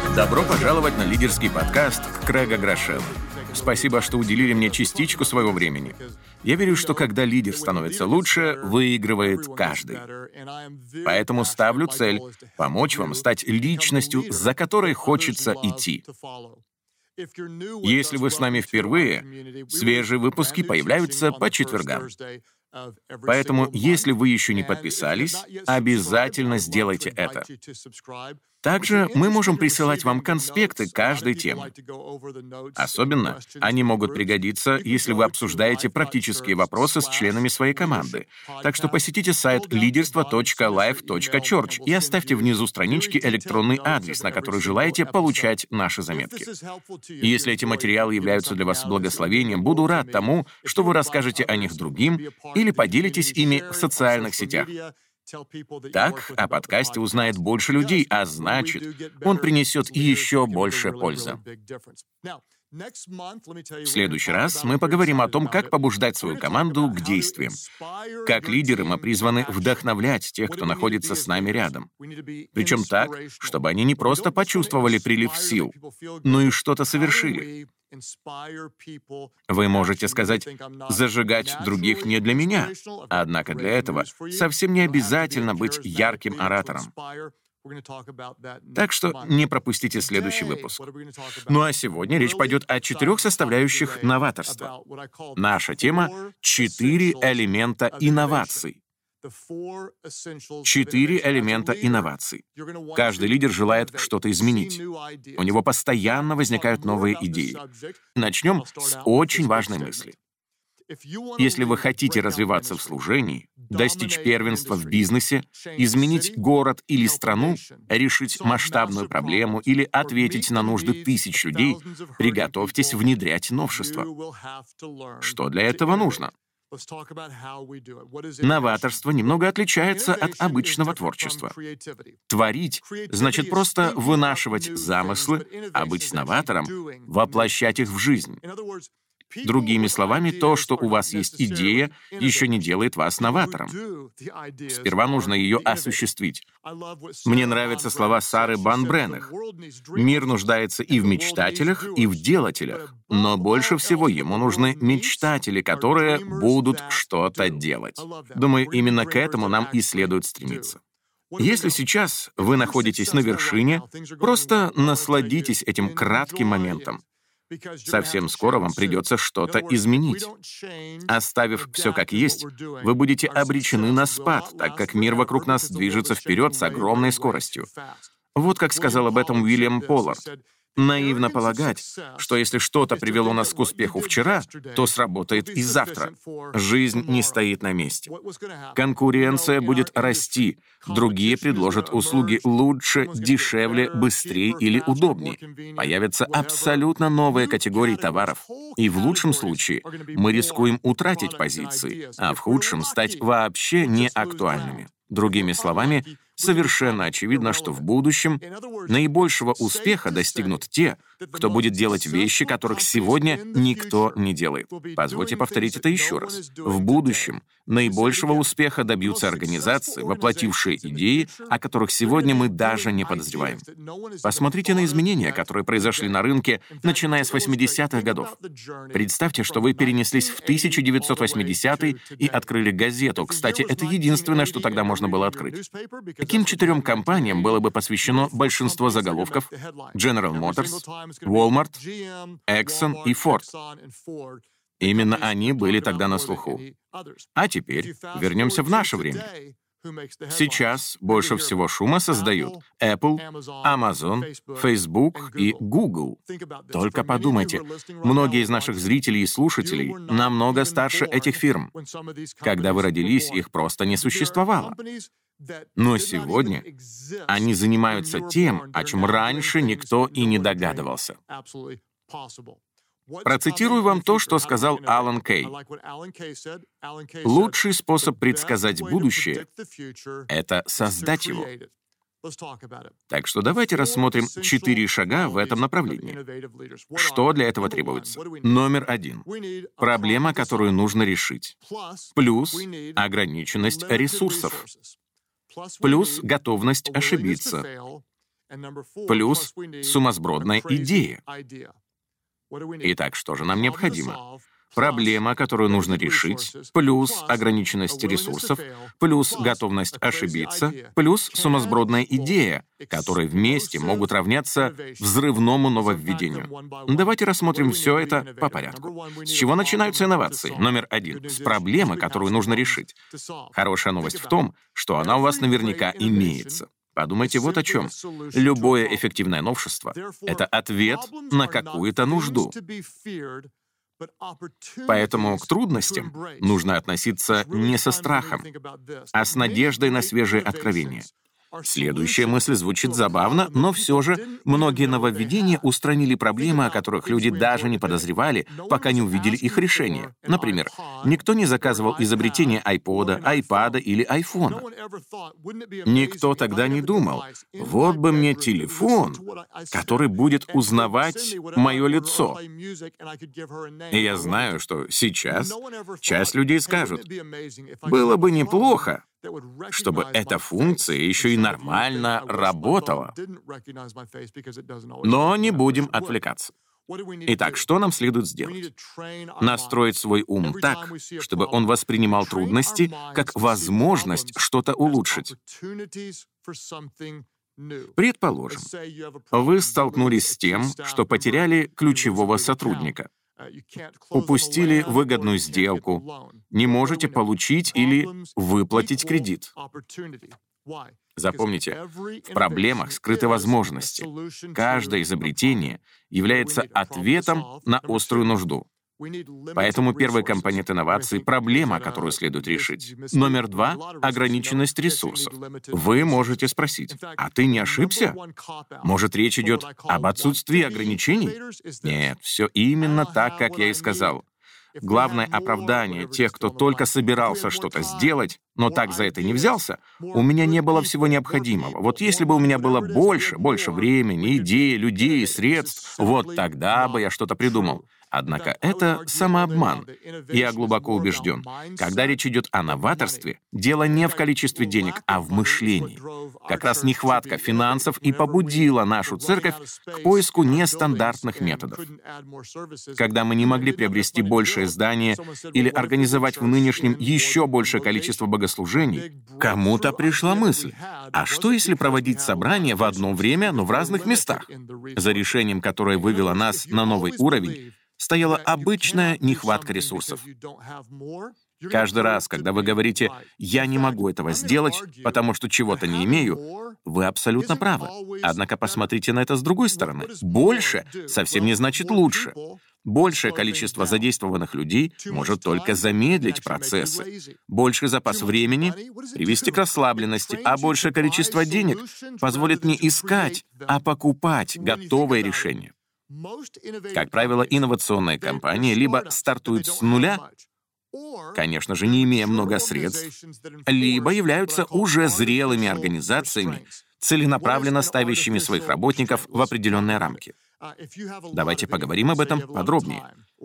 Добро пожаловать на лидерский подкаст Крэга Грошева. Спасибо, что уделили мне частичку своего времени. Я верю, что когда лидер становится лучше, выигрывает каждый. Поэтому ставлю цель — помочь вам стать личностью, за которой хочется идти. Если вы с нами впервые, свежие выпуски появляются по четвергам. Поэтому, если вы еще не подписались, обязательно сделайте это. Также мы можем присылать вам конспекты каждой темы. Особенно они могут пригодиться, если вы обсуждаете практические вопросы с членами своей команды. Так что посетите сайт leaderство.life.church и оставьте внизу странички электронный адрес, на который желаете получать наши заметки. Если эти материалы являются для вас благословением, буду рад тому, что вы расскажете о них другим или поделитесь ими в социальных сетях. Так о подкасте узнает больше людей, а значит, он принесет еще больше пользы. В следующий раз мы поговорим о том, как побуждать свою команду к действиям. Как лидеры мы призваны вдохновлять тех, кто находится с нами рядом. Причем так, чтобы они не просто почувствовали прилив сил, но и что-то совершили. Вы можете сказать: «Зажигать других не для меня». Однако для этого совсем не обязательно быть ярким оратором. Так что не пропустите следующий выпуск. Ну а сегодня речь пойдет о 4 составляющих новаторства. Наша тема — 4 элемента инноваций. 4 элемента инноваций. Каждый лидер желает что-то изменить. У него постоянно возникают новые идеи. Начнем с очень важной мысли. Если вы хотите развиваться в служении, достичь первенства в бизнесе, изменить город или страну, решить масштабную проблему или ответить на нужды тысяч людей, приготовьтесь внедрять новшества. Что для этого нужно? Новаторство немного отличается от обычного творчества. Творить значит просто вынашивать замыслы, а быть новатором — воплощать их в жизнь. Другими словами, то, что у вас есть идея, еще не делает вас новатором. Сперва нужно ее осуществить. Мне нравятся слова Сары Банбреннах. Мир нуждается и в мечтателях, и в делателях. Но больше всего ему нужны мечтатели, которые будут что-то делать. Думаю, именно к этому нам и следует стремиться. Если сейчас вы находитесь на вершине, просто насладитесь этим кратким моментом. Совсем скоро вам придется что-то изменить. Оставив все как есть, вы будете обречены на спад, так как мир вокруг нас движется вперед с огромной скоростью. Вот как сказал об этом Уильям Поллард. Наивно полагать, что если что-то привело нас к успеху вчера, то сработает и завтра. Жизнь не стоит на месте. Конкуренция будет расти, другие предложат услуги лучше, дешевле, быстрее или удобнее. Появятся абсолютно новые категории товаров. И в лучшем случае мы рискуем утратить позиции, а в худшем стать вообще неактуальными. Другими словами, совершенно очевидно, что в будущем наибольшего успеха достигнут те, кто будет делать вещи, которых сегодня никто не делает. Позвольте повторить это еще раз. В будущем наибольшего успеха добьются организации, воплотившие идеи, о которых сегодня мы даже не подозреваем. Посмотрите на изменения, которые произошли на рынке, начиная с 80-х годов. Представьте, что вы перенеслись в 1980-й и открыли газету. Кстати, это единственное, что тогда можно было открыть. Каким 4 компаниям было бы посвящено большинство заголовков? General Motors, Walmart, Exxon и Ford. Именно они были тогда на слуху. А теперь вернемся в наше время. Сейчас больше всего шума создают Apple, Amazon, Facebook и Google. Только подумайте, многие из наших зрителей и слушателей намного старше этих фирм. Когда вы родились, их просто не существовало. Но сегодня они занимаются тем, о чем раньше никто и не догадывался. Процитирую вам то, что сказал Алан Кей. Лучший способ предсказать будущее — это создать его. Так что давайте рассмотрим 4 шага в этом направлении. Что для этого требуется? Номер 1. Проблема, которую нужно решить. Плюс ограниченность ресурсов. Плюс готовность ошибиться. плюс сумасбродная идея. Итак, что же нам необходимо? Проблема, которую нужно решить, плюс ограниченность ресурсов, плюс готовность ошибиться, плюс сумасбродная идея, которые вместе могут равняться взрывному нововведению. Давайте рассмотрим все это по порядку. С чего начинаются инновации? Номер 1. С проблемы, которую нужно решить. Хорошая новость в том, что она у вас наверняка имеется. Подумайте вот о чем. Любое эффективное новшество — это ответ на какую-то нужду. Поэтому к трудностям нужно относиться не со страхом, а с надеждой на свежие откровения. Следующая мысль звучит забавно, но все же многие нововведения устранили проблемы, о которых люди даже не подозревали, пока не увидели их решение. Например, никто не заказывал изобретение iPod, iPad или iPhone. Никто тогда не думал, вот бы мне телефон, который будет узнавать мое лицо. И я знаю, что сейчас часть людей скажут, было бы неплохо, чтобы эта функция еще и нормально работала. Но не будем отвлекаться. Итак, что нам следует сделать? Настроить свой ум так, чтобы он воспринимал трудности как возможность что-то улучшить. Предположим, вы столкнулись с тем, что потеряли ключевого сотрудника. Упустили выгодную сделку, не можете получить или выплатить кредит. Запомните, в проблемах скрыты возможности. Каждое изобретение является ответом на острую нужду. Поэтому первый компонент инновации — проблема, которую следует решить. Номер 2 — ограниченность ресурсов. Вы можете спросить, а ты не ошибся? Может, речь идет об отсутствии ограничений? Нет, все именно так, как я и сказал. Главное оправдание тех, кто только собирался что-то сделать, но так за это не взялся, у меня не было всего необходимого. Вот если бы у меня было больше времени, идей, людей, средств, вот тогда бы я что-то придумал. Однако это самообман. Я глубоко убежден, когда речь идет о новаторстве, дело не в количестве денег, а в мышлении. Как раз нехватка финансов и побудила нашу церковь к поиску нестандартных методов. Когда мы не могли приобрести большее здание или организовать в нынешнем еще большее количество богослужений, кому-то пришла мысль, а что если проводить собрания в одно время, но в разных местах? За решением, которое вывело нас на новый уровень, стояла обычная нехватка ресурсов. Каждый раз, когда вы говорите «я не могу этого сделать, потому что чего-то не имею», вы абсолютно правы. Однако посмотрите на это с другой стороны. Больше совсем не значит лучше. Большее количество задействованных людей может только замедлить процессы. Больший запас времени — привести к расслабленности, а большее количество денег позволит не искать, а покупать готовые решения. Как правило, инновационные компании либо стартуют с нуля, конечно же, не имея много средств, либо являются уже зрелыми организациями, целенаправленно ставящими своих работников в определенные рамки. Давайте поговорим об этом подробнее.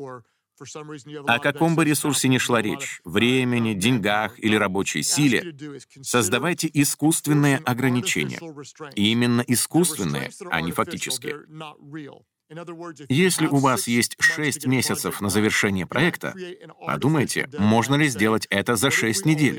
О каком бы ресурсе ни шла речь, времени, деньгах или рабочей силе, создавайте искусственные ограничения. И именно искусственные, а не фактические. Если у вас есть 6 месяцев на завершение проекта, подумайте, можно ли сделать это за 6 недель.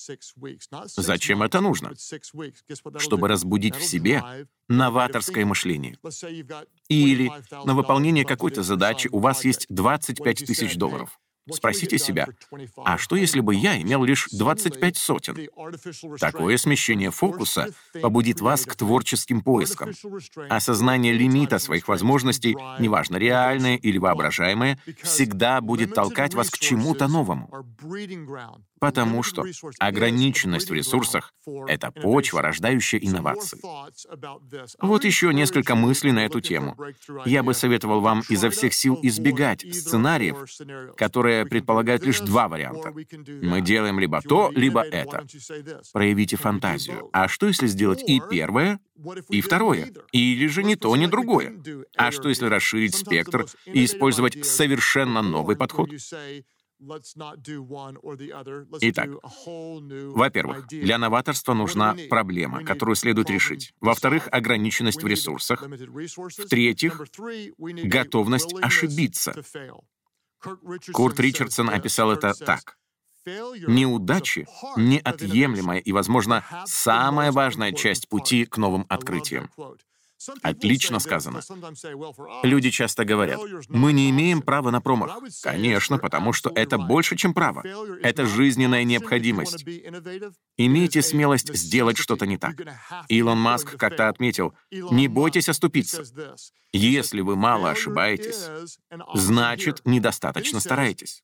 Зачем это нужно? Чтобы разбудить в себе новаторское мышление. Или на выполнение какой-то задачи у вас есть $25 тысяч. Спросите себя, а что если бы я имел лишь 25 сотен? Такое смещение фокуса побудит вас к творческим поискам. Осознание лимита своих возможностей, неважно, реальное или воображаемое, всегда будет толкать вас к чему-то новому. Потому что ограниченность в ресурсах — это почва, рождающая инновации. Вот еще несколько мыслей на эту тему. Я бы советовал вам изо всех сил избегать сценариев, которые предполагают лишь 2 варианта. Мы делаем либо то, либо это. Проявите фантазию. А что, если сделать и первое, и второе? Или же ни то, ни другое? А что, если расширить спектр и использовать совершенно новый подход? Итак, во-первых, для новаторства нужна проблема, которую следует решить. Во-вторых, ограниченность в ресурсах. В-третьих, готовность ошибиться. Курт Ричардсон описал это так. Неудачи — неотъемлемая и, возможно, самая важная часть пути к новым открытиям. Отлично сказано. Люди часто говорят, мы не имеем права на промах. Конечно, потому что это больше, чем право. Это жизненная необходимость. Имейте смелость сделать что-то не так. Илон Маск как-то отметил, не бойтесь оступиться. Если вы мало ошибаетесь, значит, недостаточно стараетесь.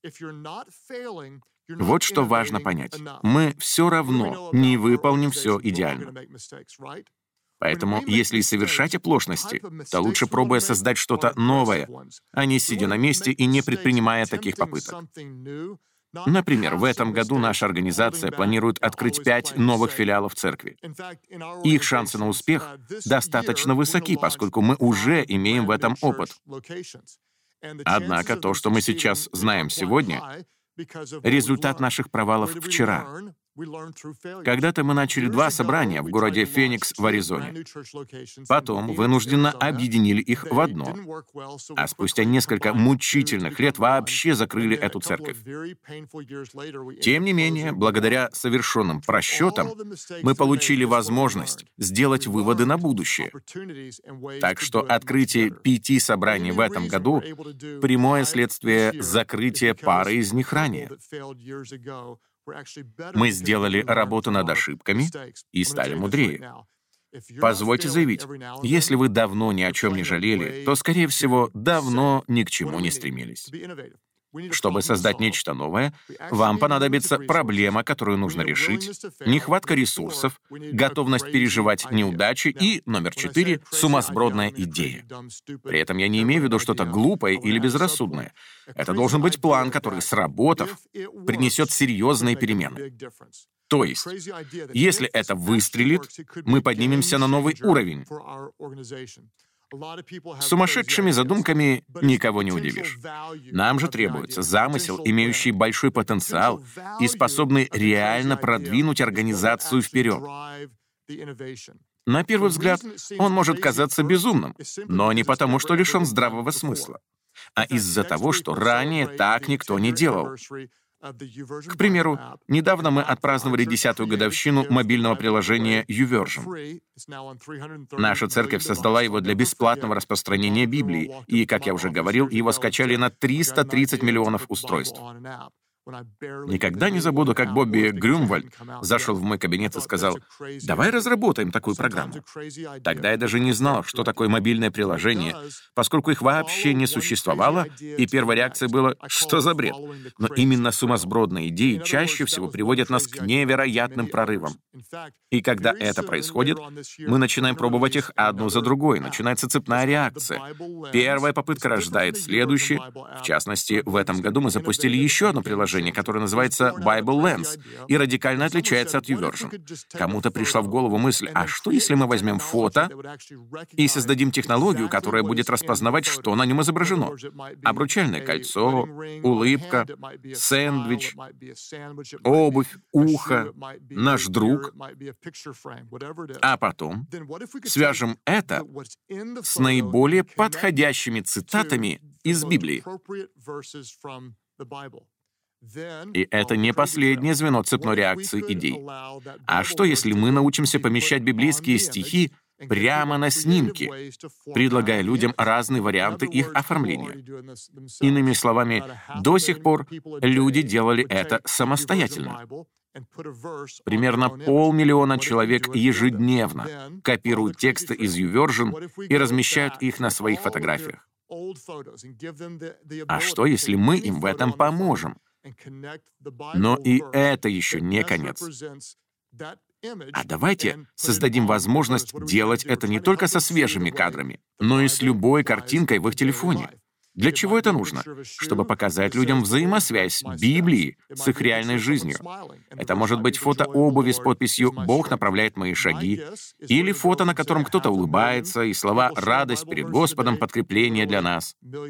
Вот что важно понять. Мы все равно не выполним все идеально. Поэтому, если и совершать оплошности, то лучше пробуя создать что-то новое, а не сидя на месте и не предпринимая таких попыток. Например, в этом году наша организация планирует открыть 5 новых филиалов церкви. Их шансы на успех достаточно высоки, поскольку мы уже имеем в этом опыт. Однако то, что мы сейчас знаем сегодня, результат наших провалов вчера. Когда-то мы начали 2 собрания в городе Феникс в Аризоне. Потом вынужденно объединили их в одно, а спустя несколько мучительных лет вообще закрыли эту церковь. Тем не менее, благодаря совершенным просчетам, мы получили возможность сделать выводы на будущее. Так что открытие 5 собраний в этом году — прямое следствие закрытия пары из них ранее. Мы сделали работу над ошибками и стали мудрее. Позвольте заявить, если вы давно ни о чем не жалели, то, скорее всего, давно ни к чему не стремились. Чтобы создать нечто новое, вам понадобится проблема, которую нужно решить, нехватка ресурсов, готовность переживать неудачи и, номер 4, сумасбродная идея. При этом я не имею в виду что-то глупое или безрассудное. Это должен быть план, который, сработав, принесет серьезные перемены. То есть, если это выстрелит, мы поднимемся на новый уровень. Сумасшедшими задумками никого не удивишь. Нам же требуется замысел, имеющий большой потенциал и способный реально продвинуть организацию вперед. На первый взгляд, он может казаться безумным, но не потому, что лишен здравого смысла, а из-за того, что ранее так никто не делал. К примеру, недавно мы отпраздновали 10-ю годовщину мобильного приложения YouVersion. Наша церковь создала его для бесплатного распространения Библии, и, как я уже говорил, его скачали на 330 миллионов устройств. Никогда не забуду, как Бобби Грюмвальд зашел в мой кабинет и сказал, «Давай разработаем такую программу». Тогда я даже не знал, что такое мобильное приложение, поскольку их вообще не существовало, и первая реакция была, что за бред. Но именно сумасбродные идеи чаще всего приводят нас к невероятным прорывам. И когда это происходит, мы начинаем пробовать их одну за другой, начинается цепная реакция. Первая попытка рождает следующее. В частности, в этом году мы запустили еще одно приложение, которое называется Bible Lens и радикально отличается от YouVersion. Кому-то пришла в голову мысль, а что если мы возьмем фото и создадим технологию, которая будет распознавать, что на нем изображено? Обручальное кольцо, улыбка, сэндвич, обувь, ухо, наш друг. А потом свяжем это с наиболее подходящими цитатами из Библии. И это не последнее звено цепной реакции идей. А что, если мы научимся помещать библейские стихи прямо на снимки, предлагая людям разные варианты их оформления? Иными словами, до сих пор люди делали это самостоятельно. Примерно 500 000 человек ежедневно копируют тексты из YouVersion и размещают их на своих фотографиях. А что, если мы им в этом поможем? Но и это еще не конец. А давайте создадим возможность делать это не только со свежими кадрами, но и с любой картинкой в их телефоне. Для чего это нужно? Чтобы показать людям взаимосвязь Библии с их реальной жизнью. Это может быть фото обуви с подписью «Бог направляет мои шаги», или фото, на котором кто-то улыбается, и слова «Радость перед Господом, подкрепление для нас».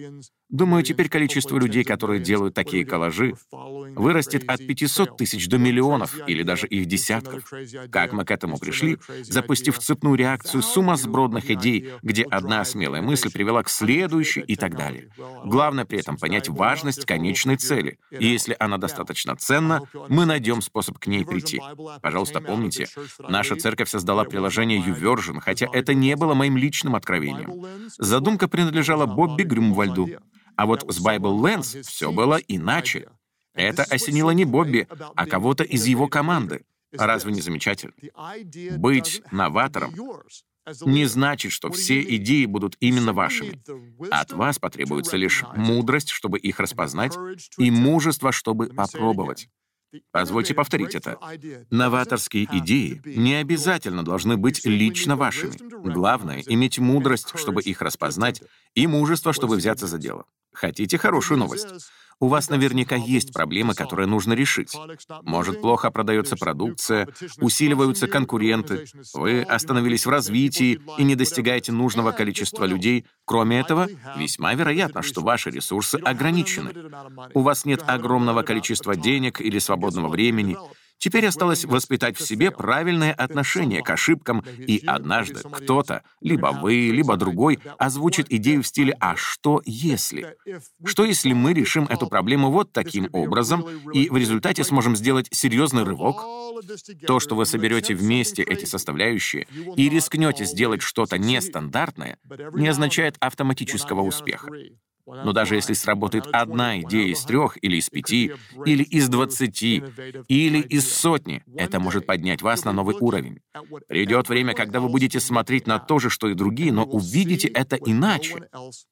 Думаю, теперь количество людей, которые делают такие коллажи, вырастет от 500 тысяч до миллионов или даже их десятков. Как мы к этому пришли? Запустив цепную реакцию сумасбродных идей, где одна смелая мысль привела к следующей и так далее. Главное при этом понять важность конечной цели. И если она достаточно ценна, мы найдем способ к ней прийти. Пожалуйста, помните, наша церковь создала приложение YouVersion, хотя это не было моим личным откровением. Задумка принадлежала Бобби Грюмвальду. А вот с Bible Lens все было иначе. Это осенило не Бобби, а кого-то из его команды. Разве не замечательно? Быть новатором не значит, что все идеи будут именно вашими. От вас потребуется лишь мудрость, чтобы их распознать, и мужество, чтобы попробовать. Позвольте повторить это. Новаторские идеи не обязательно должны быть лично вашими. Главное — иметь мудрость, чтобы их распознать, и мужество, чтобы взяться за дело. Хотите хорошую новость? У вас наверняка есть проблемы, которые нужно решить. Может, плохо продается продукция, усиливаются конкуренты, вы остановились в развитии и не достигаете нужного количества людей. Кроме этого, весьма вероятно, что ваши ресурсы ограничены. У вас нет огромного количества денег или свободного времени. Теперь осталось воспитать в себе правильное отношение к ошибкам, и однажды кто-то, либо вы, либо другой, озвучит идею в стиле «А что если?». Что если мы решим эту проблему вот таким образом, и в результате сможем сделать серьезный рывок? То, что вы соберете вместе эти составляющие и рискнете сделать что-то нестандартное, не означает автоматического успеха. Но даже если сработает одна идея из 3 или из 5, или из 20, или из сотни, это может поднять вас на новый уровень. Придет время, когда вы будете смотреть на то же, что и другие, но увидите это иначе.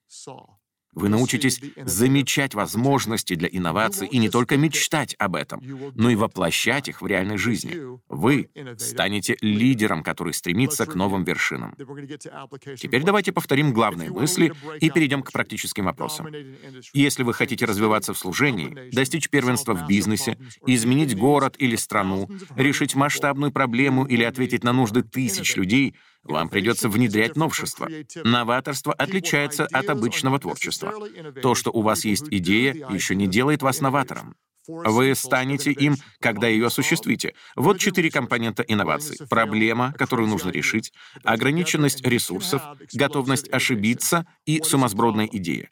Вы научитесь замечать возможности для инноваций и не только мечтать об этом, но и воплощать их в реальной жизни. Вы станете лидером, который стремится к новым вершинам. Теперь давайте повторим главные мысли и перейдем к практическим вопросам. Если вы хотите развиваться в служении, достичь первенства в бизнесе, изменить город или страну, решить масштабную проблему или ответить на нужды тысяч людей, вам придется внедрять новшества. Новаторство отличается от обычного творчества. То, что у вас есть идея, еще не делает вас новатором. Вы станете им, когда ее осуществите. Вот 4 компонента инноваций. Проблема, которую нужно решить, ограниченность ресурсов, готовность ошибиться и сумасбродная идея.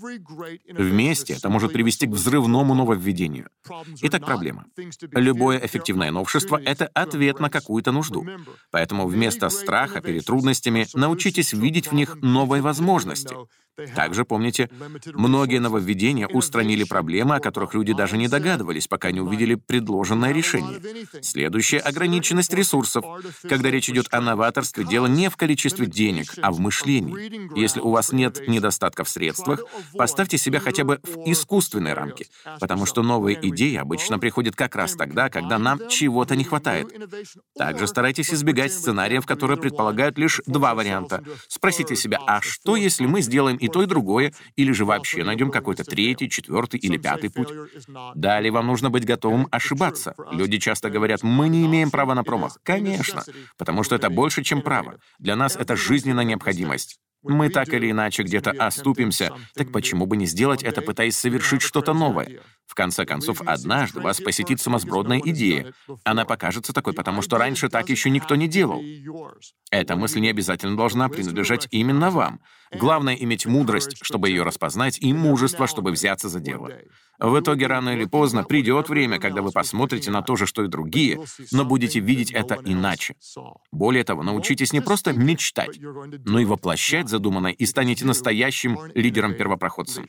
Вместе это может привести к взрывному нововведению. Итак, проблема. Любое эффективное новшество — это ответ на какую-то нужду. Поэтому вместо страха перед трудностями научитесь видеть в них новые возможности. Также помните, многие нововведения устранили проблемы, о которых люди даже не догадывались, пока не увидели предложенное решение. Следующая — ограниченность ресурсов. Когда речь идет о новаторстве, дело не в количестве денег, а в мышлении. Если у вас нет недостатка в средствах, поставьте себя хотя бы в искусственные рамки, потому что новые идеи обычно приходят как раз тогда, когда нам чего-то не хватает. Также старайтесь избегать сценариев, которые предполагают лишь 2 варианта. Спросите себя, а что, если мы сделаем и то, и другое, или же вообще найдем какой-то 3-й, 4-й или 5-й путь? Далее вам нужно быть готовым ошибаться. Люди часто говорят, мы не имеем права на промах. Конечно, потому что это больше, чем право. Для нас это жизненная необходимость. Мы так или иначе где-то оступимся, так почему бы не сделать это, пытаясь совершить что-то новое? В конце концов, однажды вас посетит сумасбродная идея. Она покажется такой, потому что раньше так еще никто не делал. Эта мысль не обязательно должна принадлежать именно вам. Главное — иметь мудрость, чтобы ее распознать, и мужество, чтобы взяться за дело. В итоге, рано или поздно, придет время, когда вы посмотрите на то же, что и другие, но будете видеть это иначе. Более того, научитесь не просто мечтать, но и воплощать задуманное, и станете настоящим лидером-первопроходцем.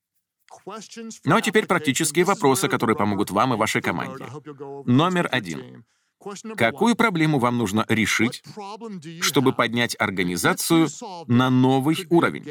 Ну а теперь практические вопросы, которые помогут вам и вашей команде. Номер 1. Какую проблему вам нужно решить, чтобы поднять организацию на новый уровень?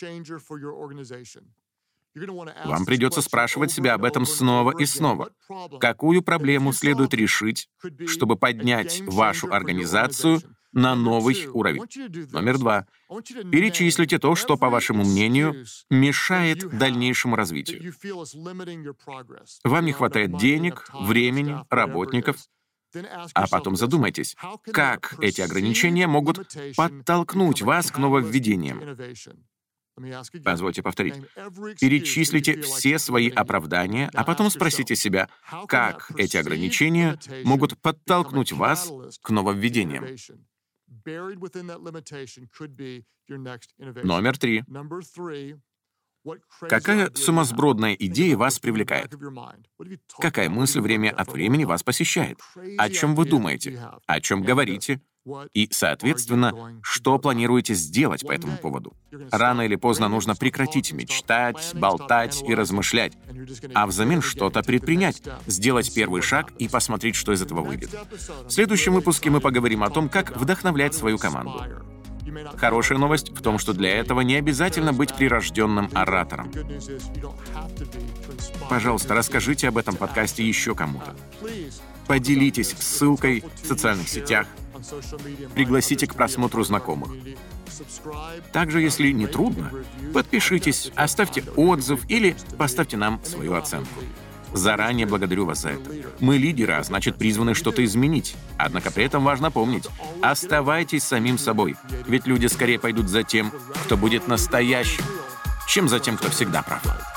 Вам придется спрашивать себя об этом снова и снова. Какую проблему следует решить, чтобы поднять вашу организацию на новый уровень? Номер 2. Перечислите то, что, по вашему мнению, мешает дальнейшему развитию. Вам не хватает денег, времени, работников. А потом задумайтесь, как эти ограничения могут подтолкнуть вас к нововведениям. Позвольте повторить. Перечислите все свои оправдания, а потом спросите себя, как эти ограничения могут подтолкнуть вас к нововведениям. Номер 3. Какая сумасбродная идея вас привлекает? Какая мысль время от времени вас посещает? О чем вы думаете? О чем говорите? И, соответственно, что планируете сделать по этому поводу? Рано или поздно нужно прекратить мечтать, болтать и размышлять, а взамен что-то предпринять, сделать первый шаг и посмотреть, что из этого выйдет. В следующем выпуске мы поговорим о том, как вдохновлять свою команду. Хорошая новость в том, что для этого не обязательно быть прирожденным оратором. Пожалуйста, расскажите об этом подкасте еще кому-то. Поделитесь ссылкой в социальных сетях, пригласите к просмотру знакомых. Также, если не трудно, подпишитесь, оставьте отзыв или поставьте нам свою оценку. Заранее благодарю вас за это. Мы лидеры, а значит, призваны что-то изменить. Однако при этом важно помнить, оставайтесь самим собой, ведь люди скорее пойдут за тем, кто будет настоящим, чем за тем, кто всегда прав.